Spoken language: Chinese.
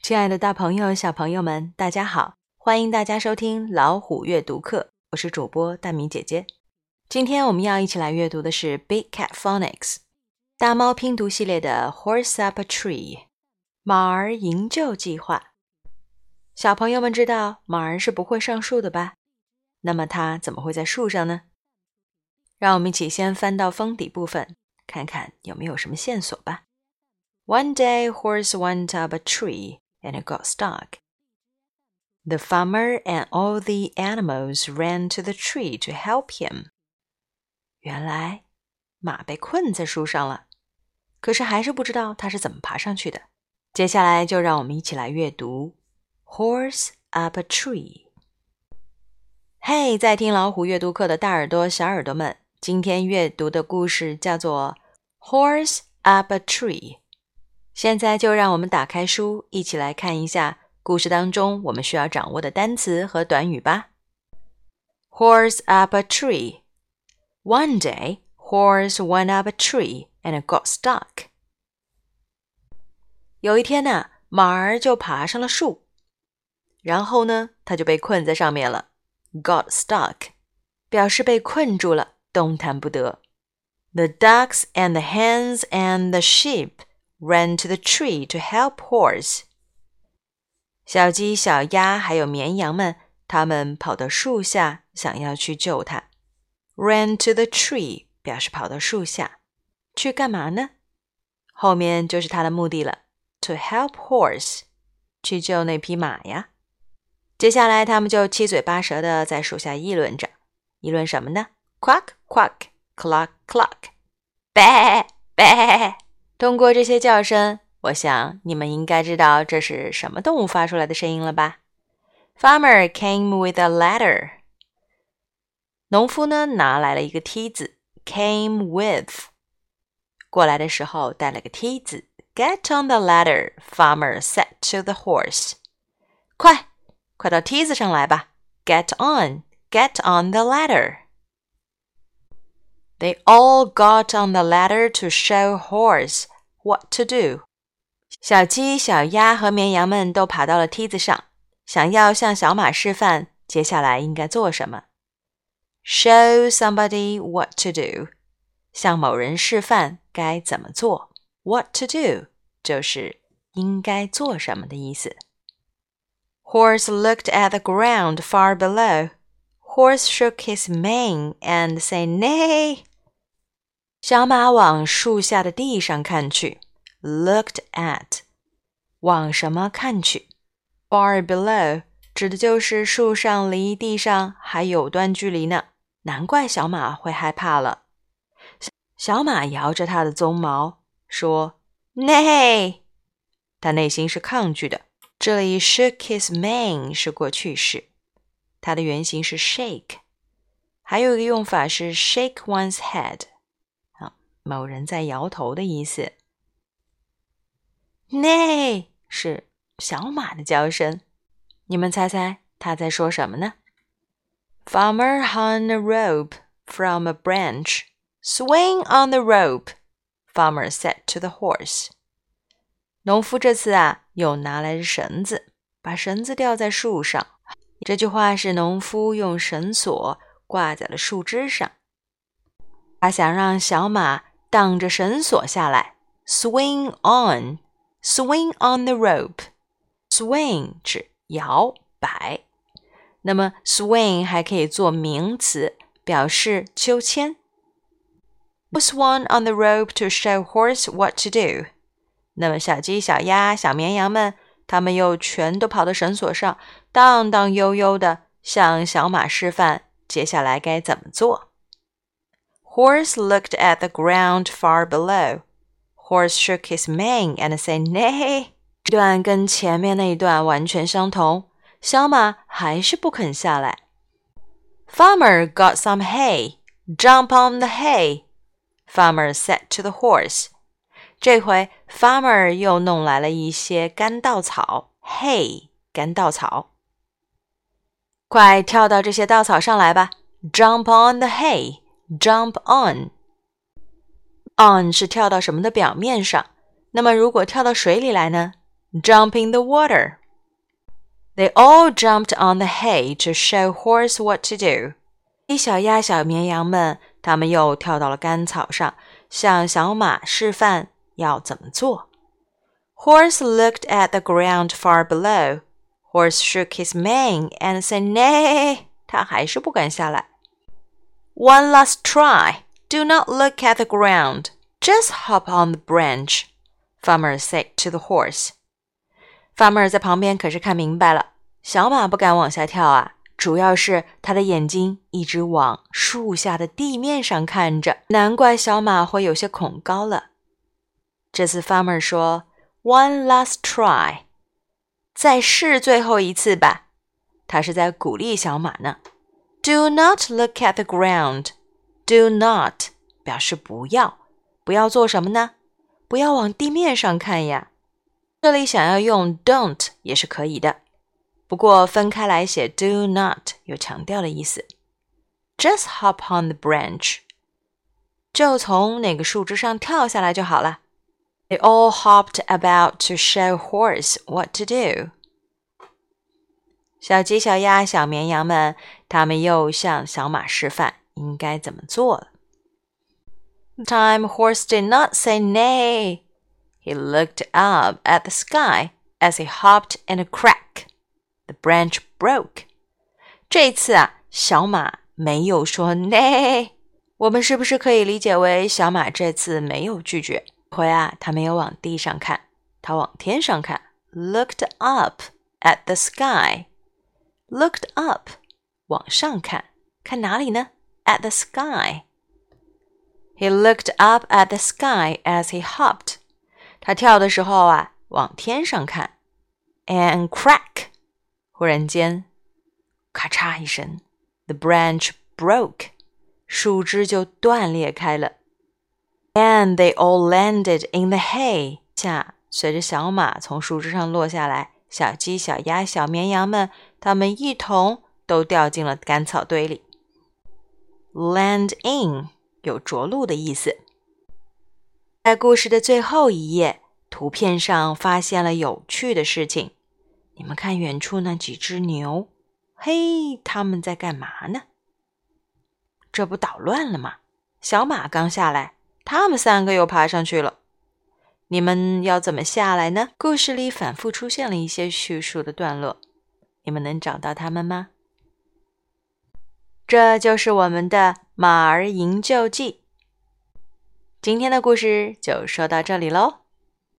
亲爱的大朋友小朋友们，大家好，欢迎大家收听老虎阅读课，我是主播大米姐姐。今天我们要一起来阅读的是 Big Cat Phonics 大猫拼读系列的 Horse Up a Tree 马儿营救计划。小朋友们知道马儿是不会上树的吧？那么它怎么会在树上呢？让我们一起先翻到封底部分，看看有没有什么线索吧。One day, horse went up a tree and it got stuck. The farmer and all the animals ran to the tree to help him. 原来马被困在树上了，可是还是不知道它是怎么爬上去的。接下来就让我们一起来阅读 Horse Up a Tree。 嘿，在听老虎阅读课的大耳朵小耳朵们，今天阅读的故事叫做 Horse Up a Tree。现在就让我们打开书，一起来看一下故事当中我们需要掌握的单词和短语吧。Horse up a tree. One day, horse went up a tree and it got stuck. 有一天呢，马儿就爬上了树，然后呢，它就被困在上面了。Got stuck 表示被困住了，动弹不得。The ducks and the hens and the sheep ran to the tree to help horse. 小鸡、小鸭还有绵羊们，它们跑到树下，想要去救它。Ran to the tree 表示跑到树下，去干嘛呢？后面就是它的目的了。To help horse 去救那匹马呀。接下来他们就七嘴八舌的在树下议论着，议论什么呢？ Quack quack cluck cluck Bah bah。通过这些叫声，我想你们应该知道这是什么动物发出来的声音了吧？ Farmer came with a ladder. 农夫呢拿来了一个梯子 came with 过来的时候带了个梯子 Get on the ladder, farmer said to the horse. 快到梯子上来吧 Get on the ladder. They all got on the ladder to show horse what to do. 小鸡、小鸭和绵羊们都爬到了梯子上，想要向小马示范接下来应该做什么。Show somebody what to do. 向某人示范该怎么做。What to do 就是应该做什么的意思。Horse looked at the ground far below. Horse shook his mane and said nay. 小马往树下的地上看去 Looked at 往什么看去 Far below 指的就是树上离地上还有段距离呢，难怪小马会害怕了。小马摇着它的鬃毛说 Nay。 它内心是抗拒的，这里 shook his mane 是过去式，它的原型是 shake， 还有一个用法是 shake one's head， 某人在摇头的意思。 Nay 是小马的叫声，你们猜猜他在说什么呢？ Farmer hung a rope from a branch. Swing on the rope, farmer said to the horse. 农夫这次又拿来了绳子，把绳子吊在树上。这句话是农夫用绳索挂在了树枝上，他想让小马荡着绳索下来。 Swing on the rope. Swing 指摇摆，那么 swing 还可以做名词，表示秋千。Swung on the rope to show horse what to do. 那么小鸡、小鸭、小绵羊们，他们又全都跑到绳索上，荡荡悠悠地向小马示范接下来该怎么做。Horse looked at the ground far below. Horse shook his mane and said nay. 这段跟前面那一段完全相同，小马还是不肯下来。Farmer got some hay. Jump on the hay, farmer said to the horse. 这回 farmer 又弄来了一些干稻草 hay 干稻草，快跳到这些稻草上来吧 Jump on the hay. Jump on 是跳到什么的表面上，那么如果跳到水里来呢？ Jump in the water. They all jumped on the hay to show Horse what to do. 小鸭、小绵羊们，他们又跳到了干草上，向小马示范要怎么做。Horse looked at the ground far below. Horse shook his mane and said, Nay. 他还是不敢下来。One last try. Do not look at the ground. Just hop on the branch, Farmer said to the horse. Farmer 在旁边可是看明白了，小马不敢往下跳啊，主要是他的眼睛一直往树下的地面上看着，难怪小马会有些恐高了。这次 Farmer 说 One last try. 再试最后一次吧，他是在鼓励小马呢。Do not look at the ground. Do not 表示不要，不要做什么呢？不要往地面上看呀。这里想要用 don't 也是可以的，不过分开来写 do not 有强调的意思。Just hop on the branch. 就从那个树枝上跳下来就好了。They all hopped about to show Horse what to do. 小鸡、小鸭、小绵羊们，他们又向小马示范应该怎么做了。This time Horse did not say nay. He looked up at the sky as he hopped in a crack. The branch broke. 这次啊，小马没有说 nay. 我们是不是可以理解为小马这次没有拒绝？这回啊，他没有往地上看，他往天上看。Looked up at the sky. Looked up 往上看，看哪里呢？ At the sky. He looked up at the sky as he hopped. 他跳的时候啊，往天上看。And crack 忽然间咔嚓一声 The branch broke. 树枝就断裂开了。And they all landed in the hay. 下随着小马从树枝上落下来，小鸡、小鸭、小绵羊们，它们一同都掉进了干草堆里。Land in 有着陆的意思。在故事的最后一页，图片上发现了有趣的事情。你们看远处那几只牛，嘿，它们在干嘛呢？这不捣乱了吗？小马刚下来，他们三个又爬上去了。你们要怎么下来呢？故事里反复出现了一些叙述的段落，你们能找到它们吗？这就是我们的马儿营救记。今天的故事就说到这里咯。